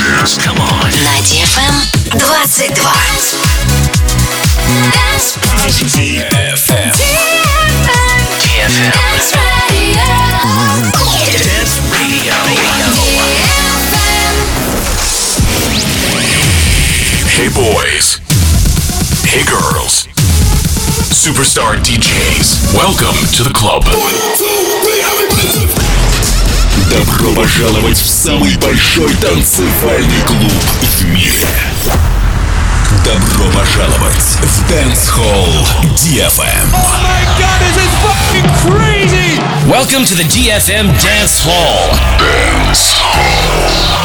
Come on. На DFM 22. DFM. Dance Radio. Dance Radio. Hey boys. Hey girls. Superstar DJs. Welcome to the club. Добро пожаловать в самый большой танцевальный клуб в мире. Добро пожаловать в Dance Hall DFM. Oh my god, this is fucking crazy! Welcome to the DFM Dance Hall. Dance Hall.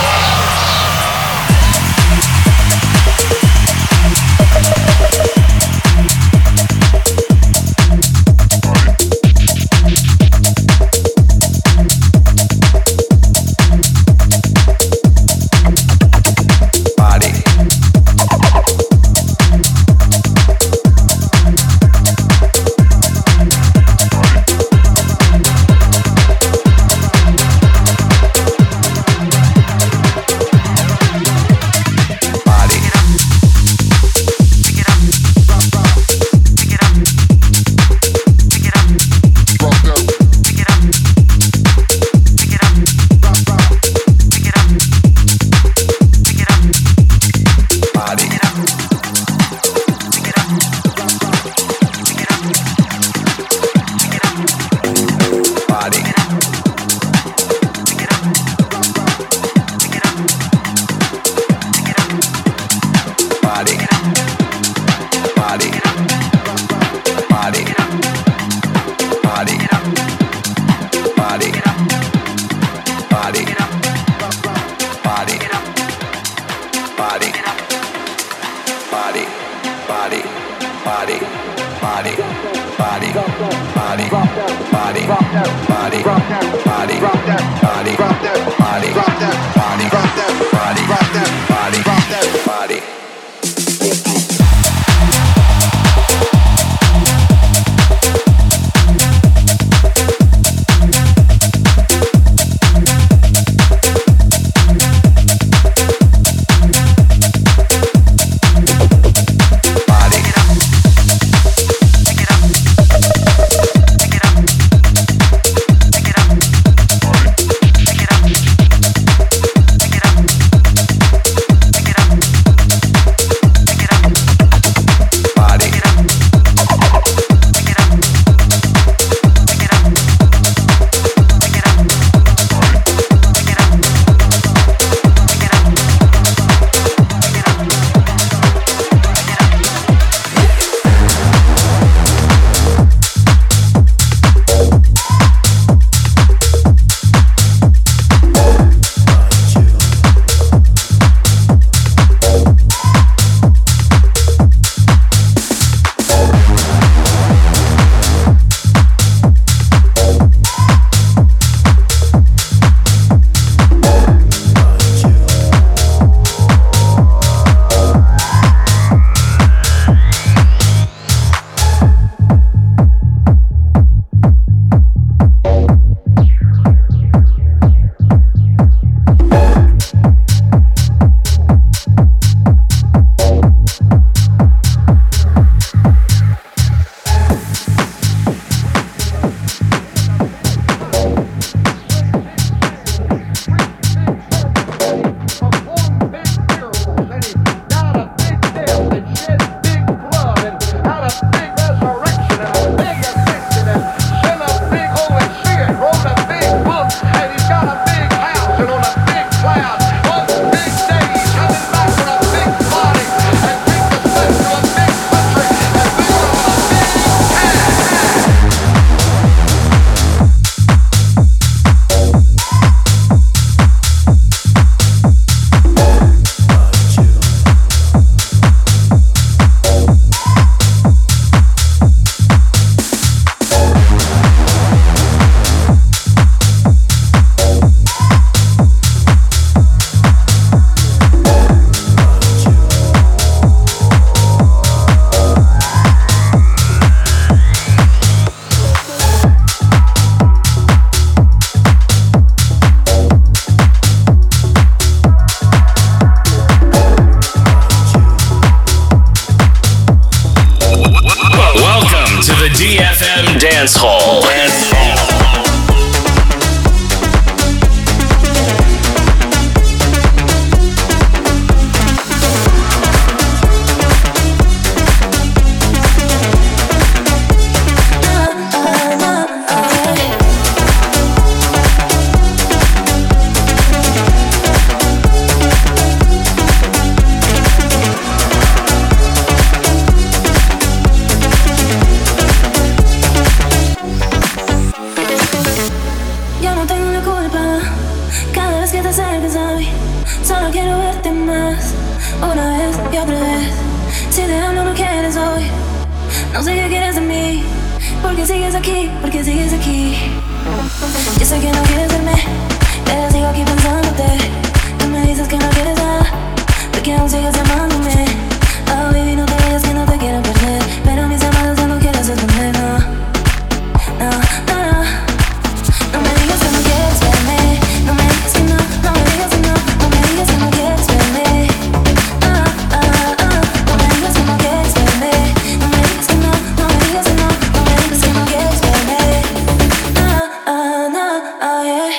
culpa cada vez que te acercas a mí. Solo quiero verte más, una vez y otra vez. Si te amo no quieres hoy, no sé qué quieres de mí. Porque sigues aquí, porque sigues aquí. Yo sé que no quieres verme, pero sigo aquí pensándote. Tú me dices que no quieres nada, porque aún sigues llamándome. Oh baby, no te vayas que no te quiero perder, pero mis llamadas ya no quieres responder, no. No, no, no. No me digas que no quieres verme, no me digas que no, no me digas que no, no me digas que no quieres verme. No me digas que no quieres verme, no me digas que no, no me digas que no, no me digas que no quieres verme. Yeah.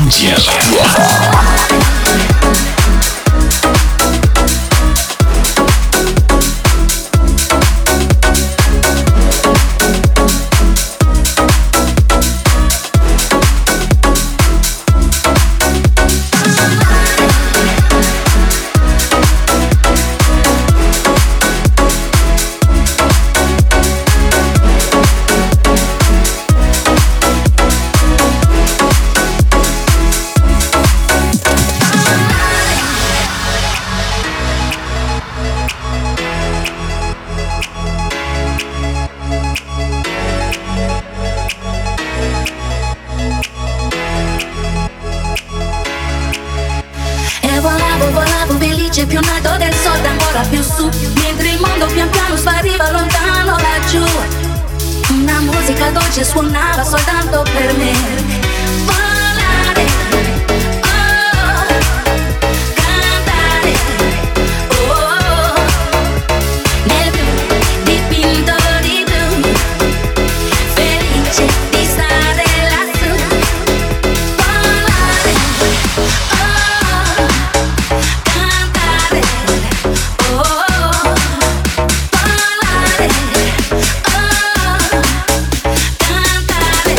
Più in alto del sole, ancora più su, mentre il mondo pian piano spariva lontano laggiù. Una musica dolce suonava soltanto per me. Volare, oh, cantare, oh, nel blu, dipinto di blu, felice di stare lassù. Volare, oh, cantare, oh, parlare, oh, cantare,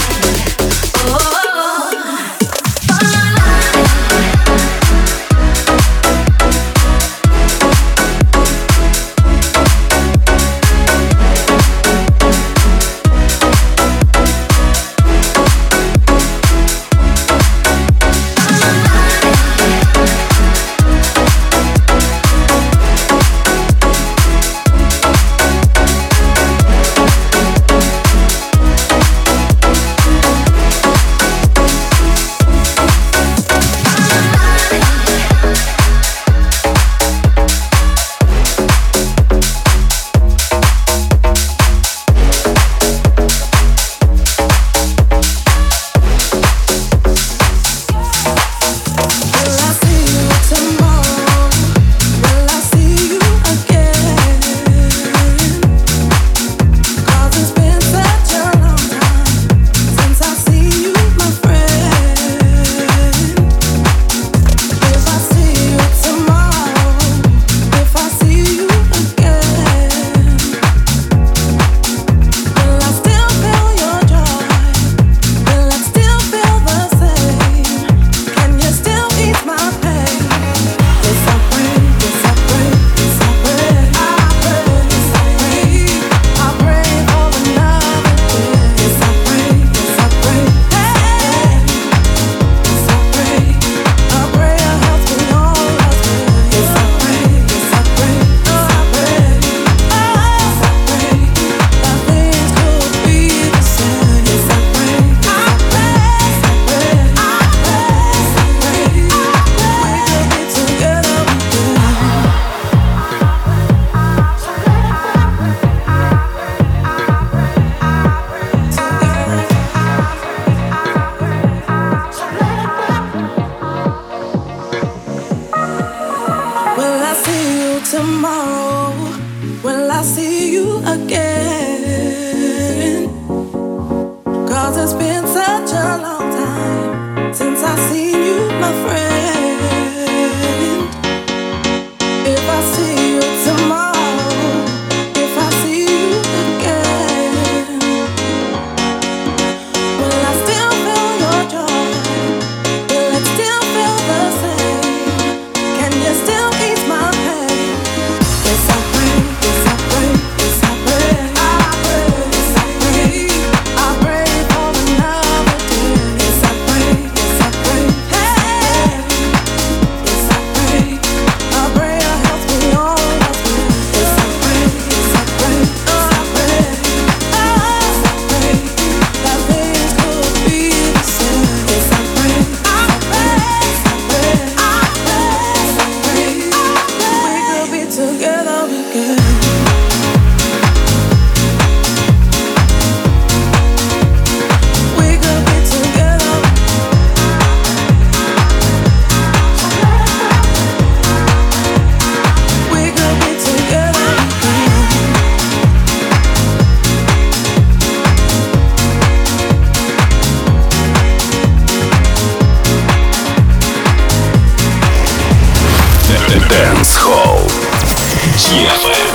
Dance Hall DFM.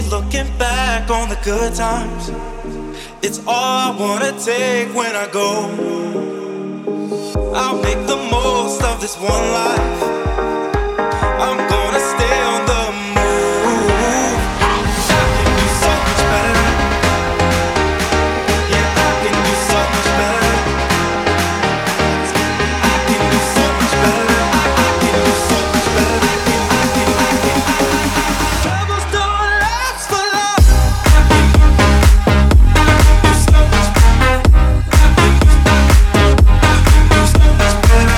looking back on the good times. It's all I wanna take when I go. I'll make the most of this one life. I'm gonna stay on the move. I can do so much better. Yeah, I can do so much better. I can do so much better. I can do so much better. Troubles don't last for long. I can do so much better. I can do so much better.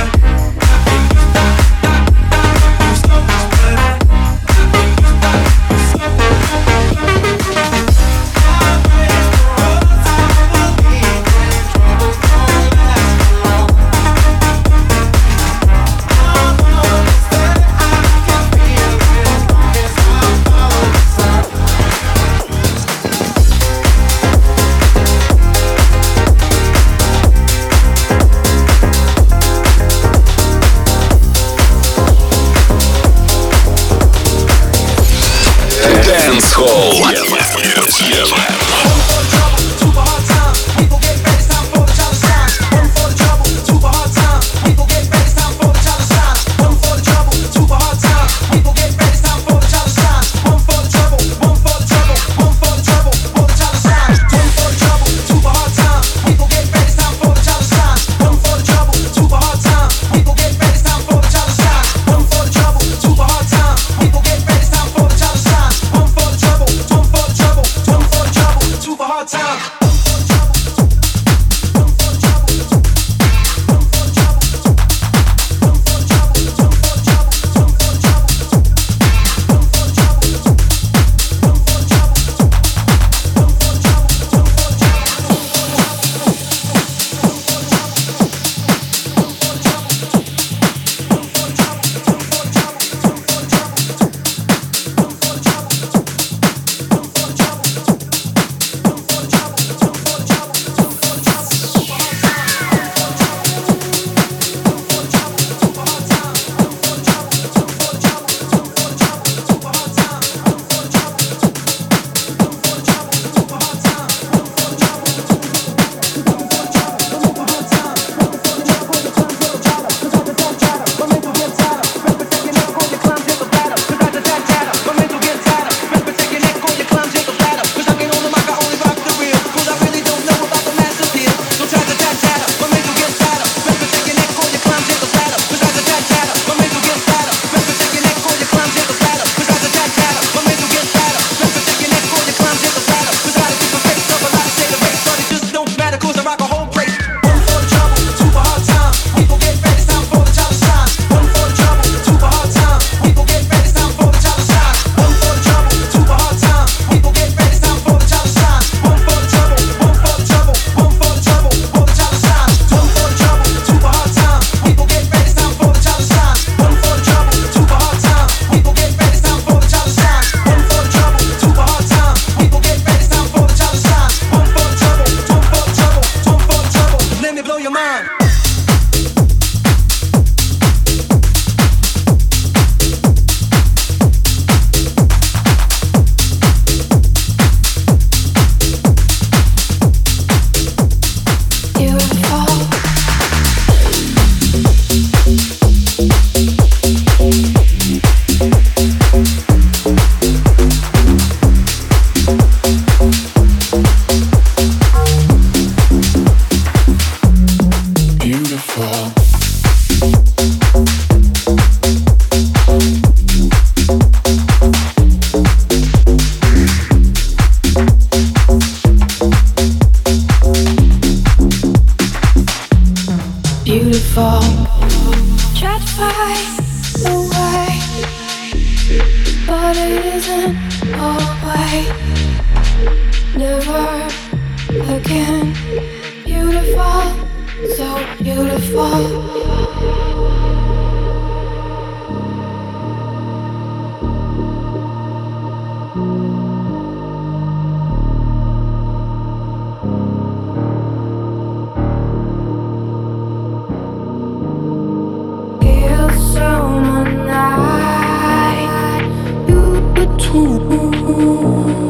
You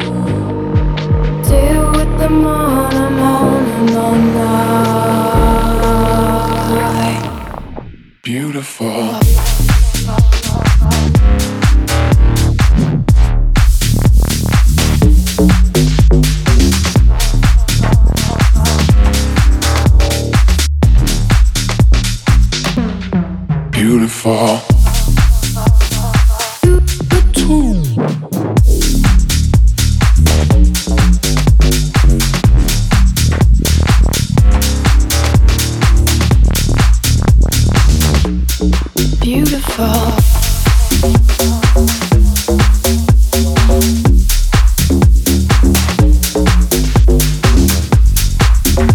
beautiful.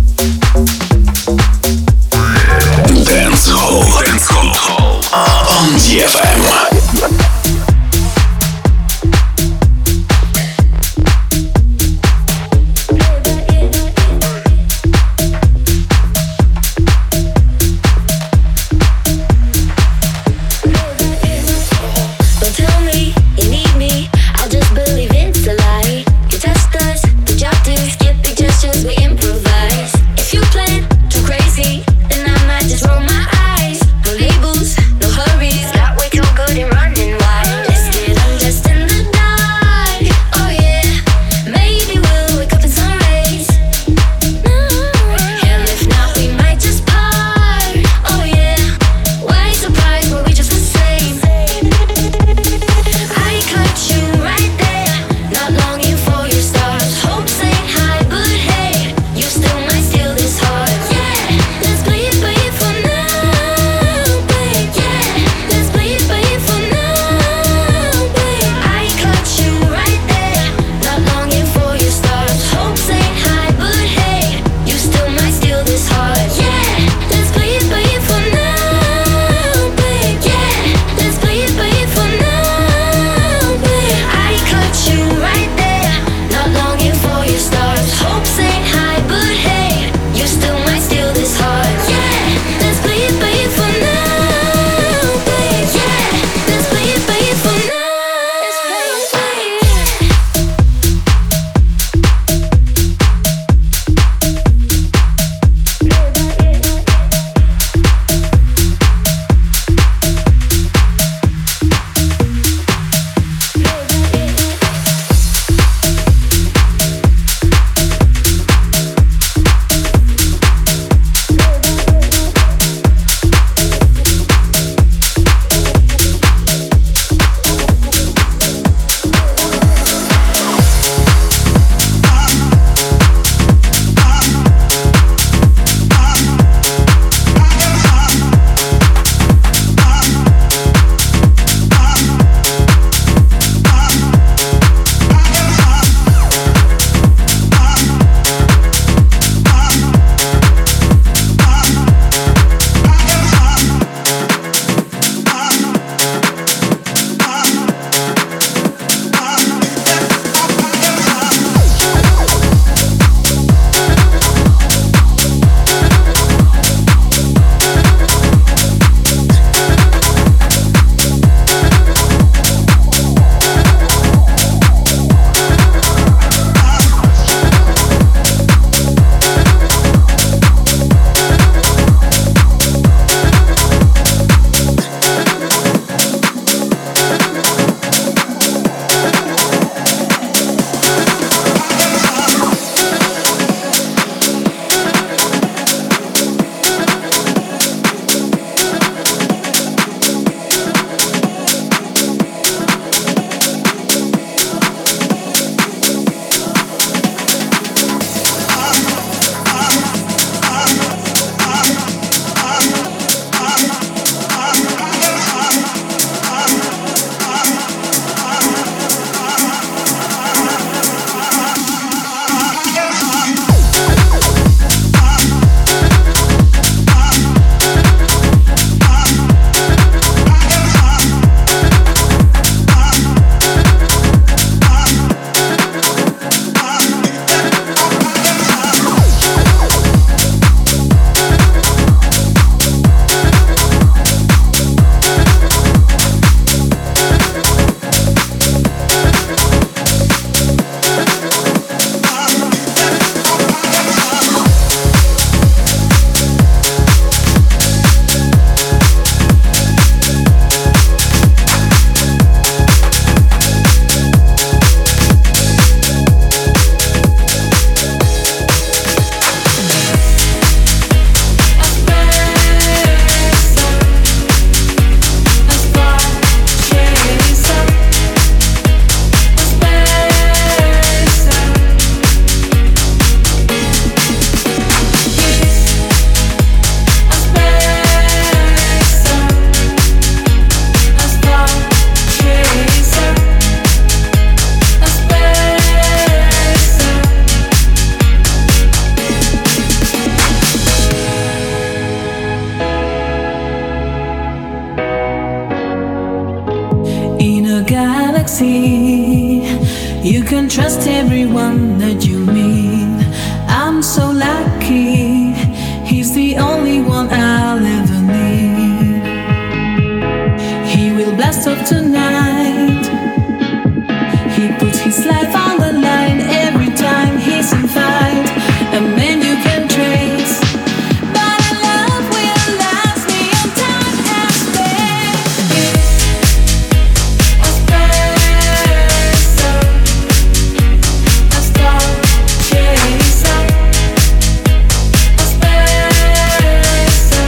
Dance Hall on galaxy. You can trust everyone that you meet. I'm so lucky. He's the only one I'll ever need. He will blast off tonight. He puts his life on the line every time he's in fight. A man you can trace, but a love will last beyond time and space. A spacer, a star chaser. A spacer.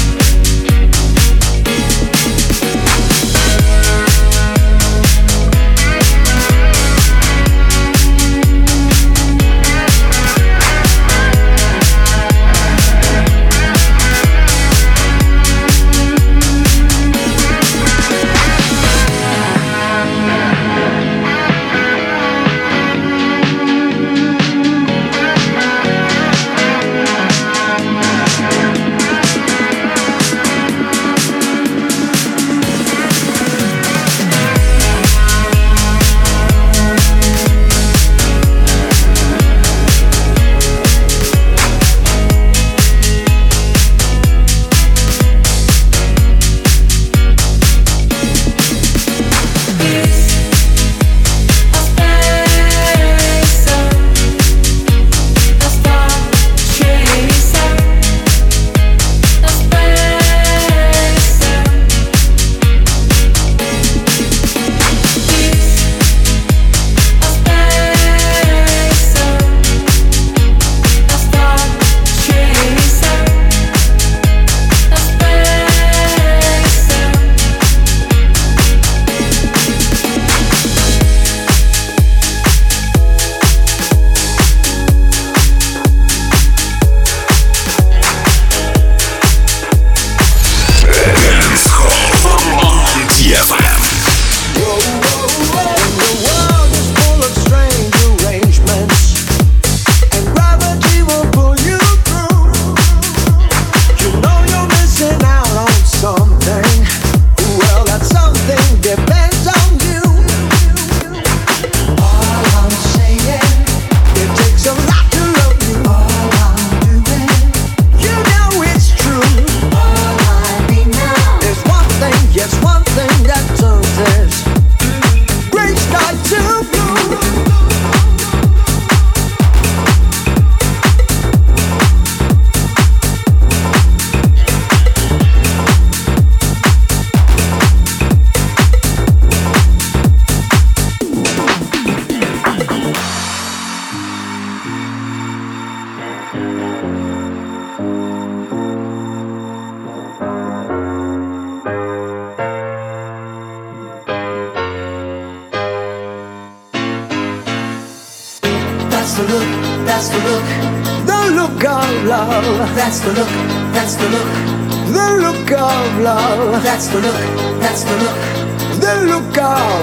the look, that's the look. The look of love. That's the look, that's the look. The look of love. That's the look, that's the look. The look of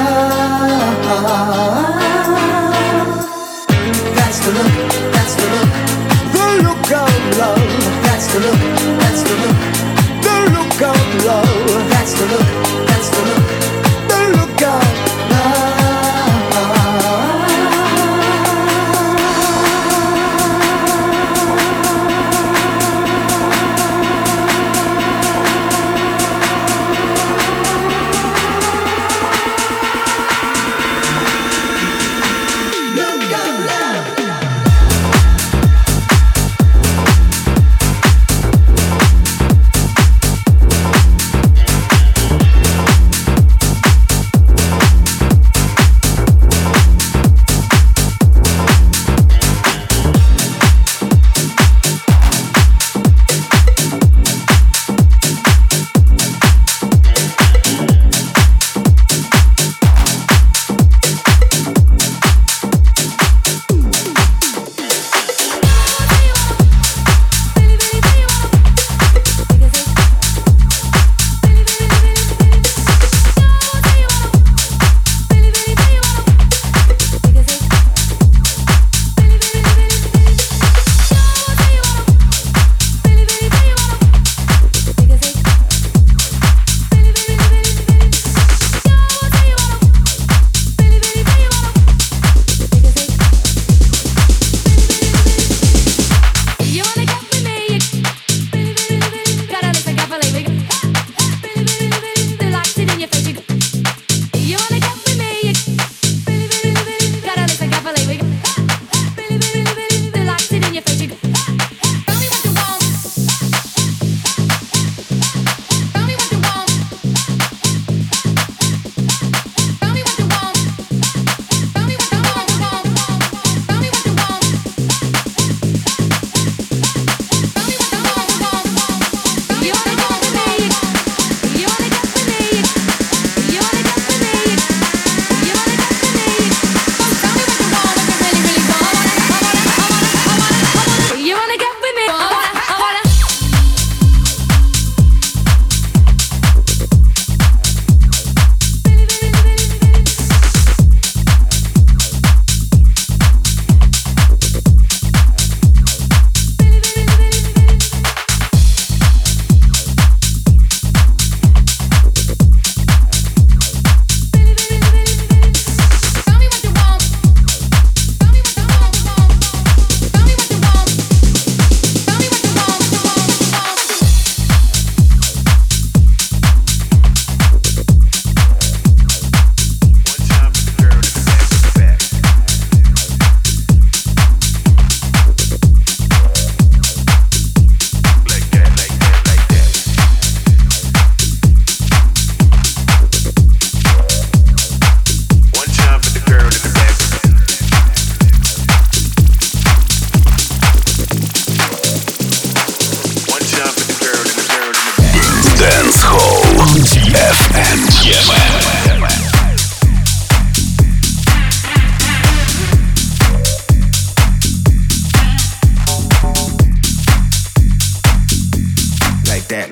love. That's the look, that's the look. The look of love. That's the look, that's the look. The look of love. That's the look, that's the look. The look of love.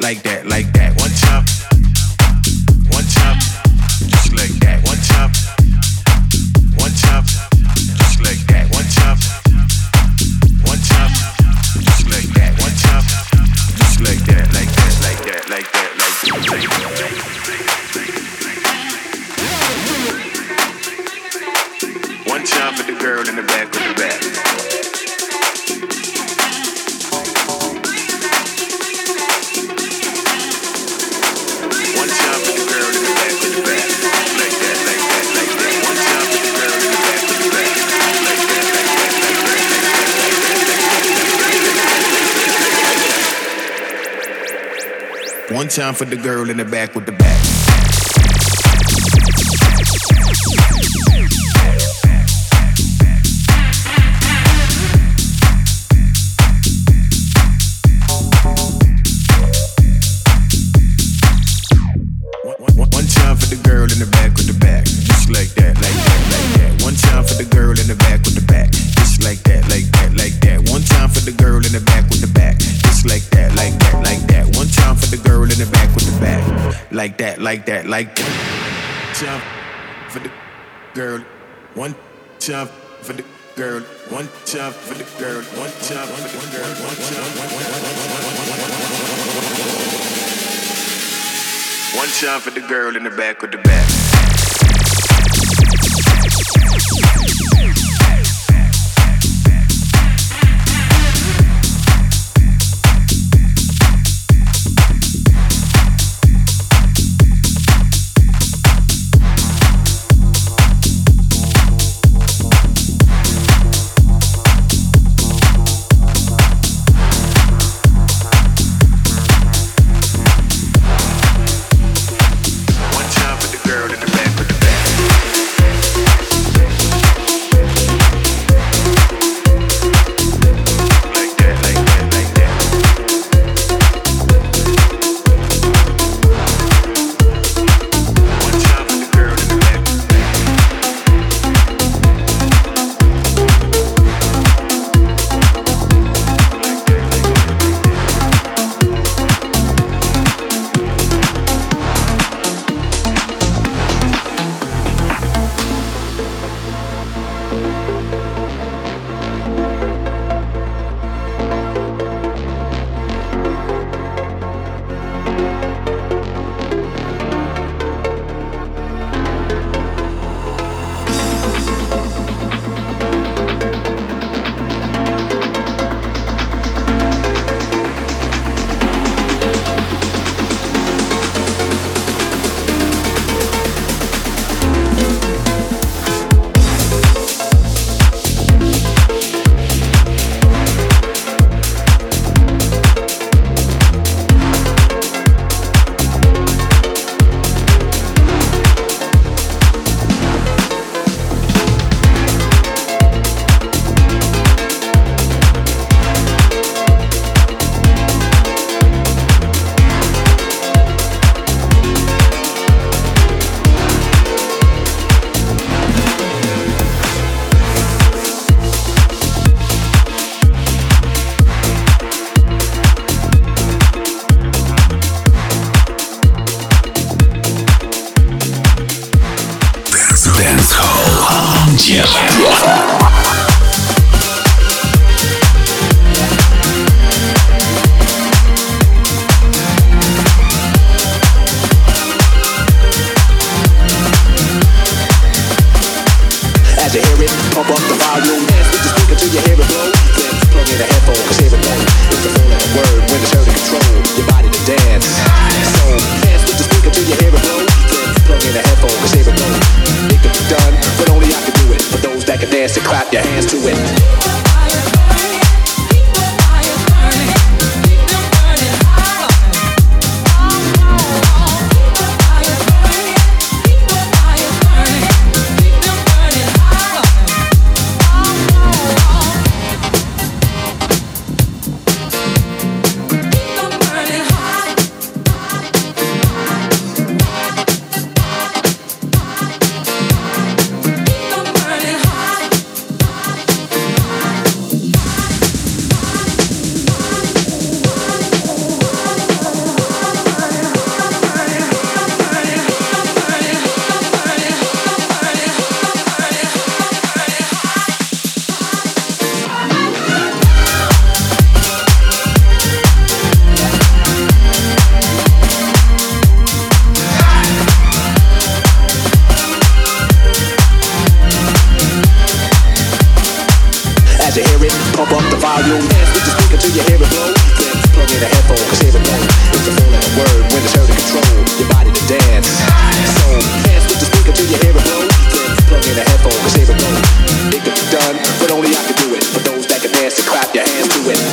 like that, like that. One chop, just like that. One chop, just like that. One chop, just like that. One chop, just like that, like that, like that, like that, like that. One chop for the girl in the back with the back. One chop for the girl in the back with the back. Like that, like that, like that. One chop for the girl in the back with the back. Like that, like that, like that. One time for the girl in the back with the back. One time for the girl in the back with the back, just like that, like that, like that. One time for the girl in the back with the back, just like that, like that, like that. One time for the girl in the back with the back, just like that, like that, like that. One time for the girl in the back with the back, like that, like that, like that. Time for the girl, one time for the girl, one time for the girl, one time for the girl, one time for the girl in the back with the back. volume. Dance with the speaker till you hear it blow. Then plug in a headphone, cause here it goes. It's the full of the word when it's heard to control your body to dance. So dance with the speaker till you hear it blow. Then plug in a headphone, cause here it goes. It could be done, but only I can do it. For those that can dance and clap your hands to it.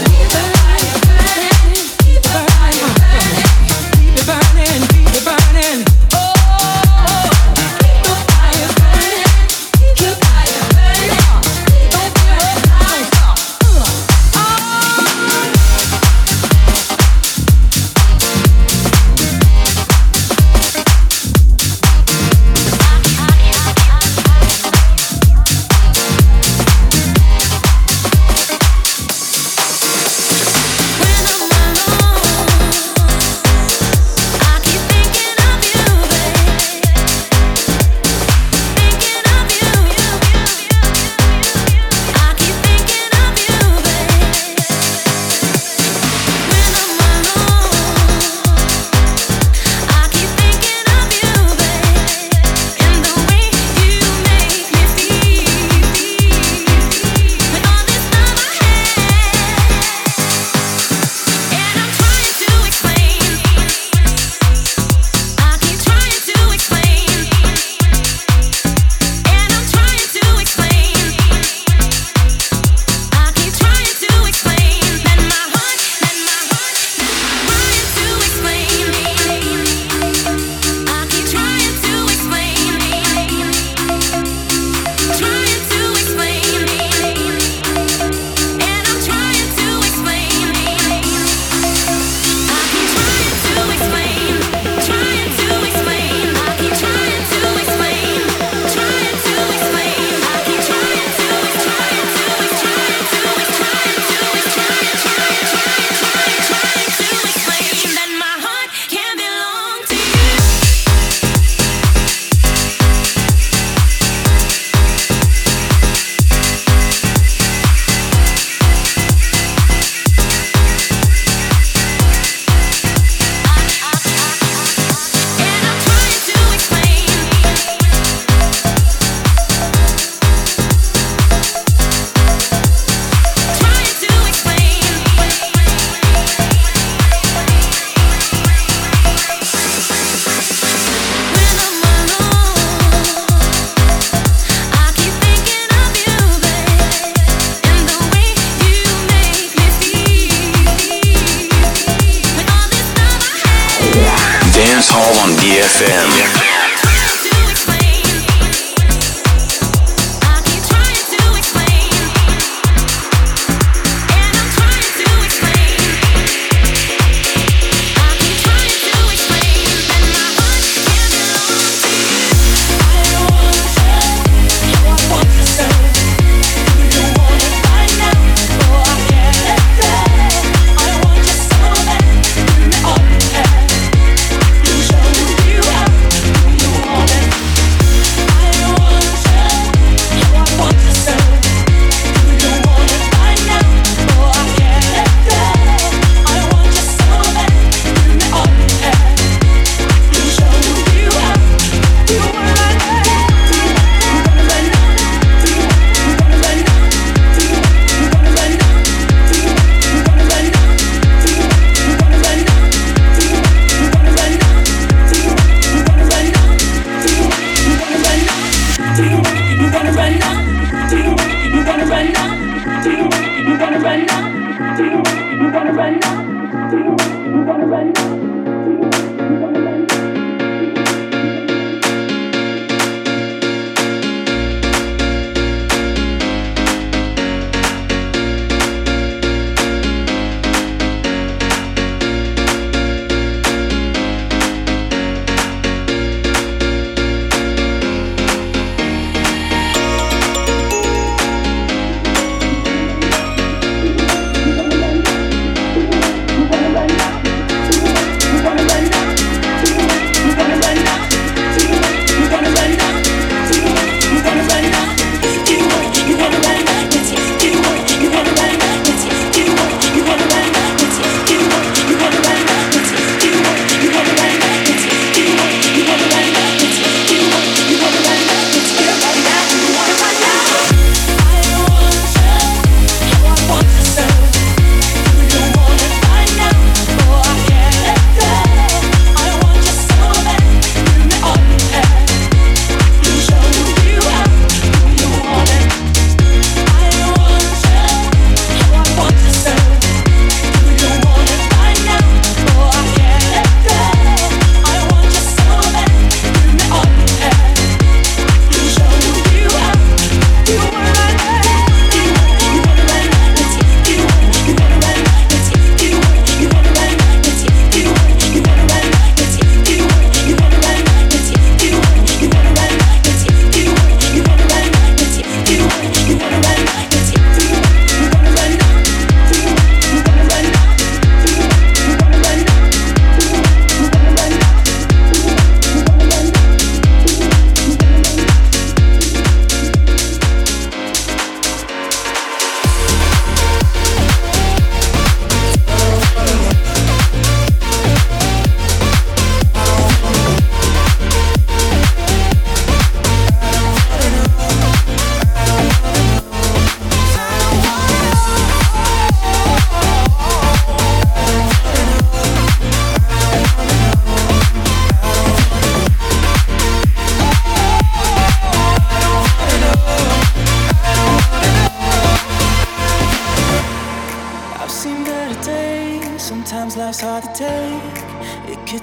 Dance Hall on DFM.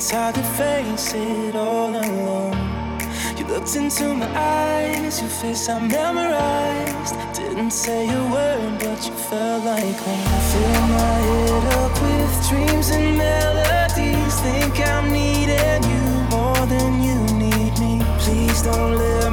It's hard to face it all alone. You looked into my eyes, your face I memorized. Didn't say a word, but you felt like home. Fill my head up with dreams and melodies. Think I'm needing you more than you need me. Please don't let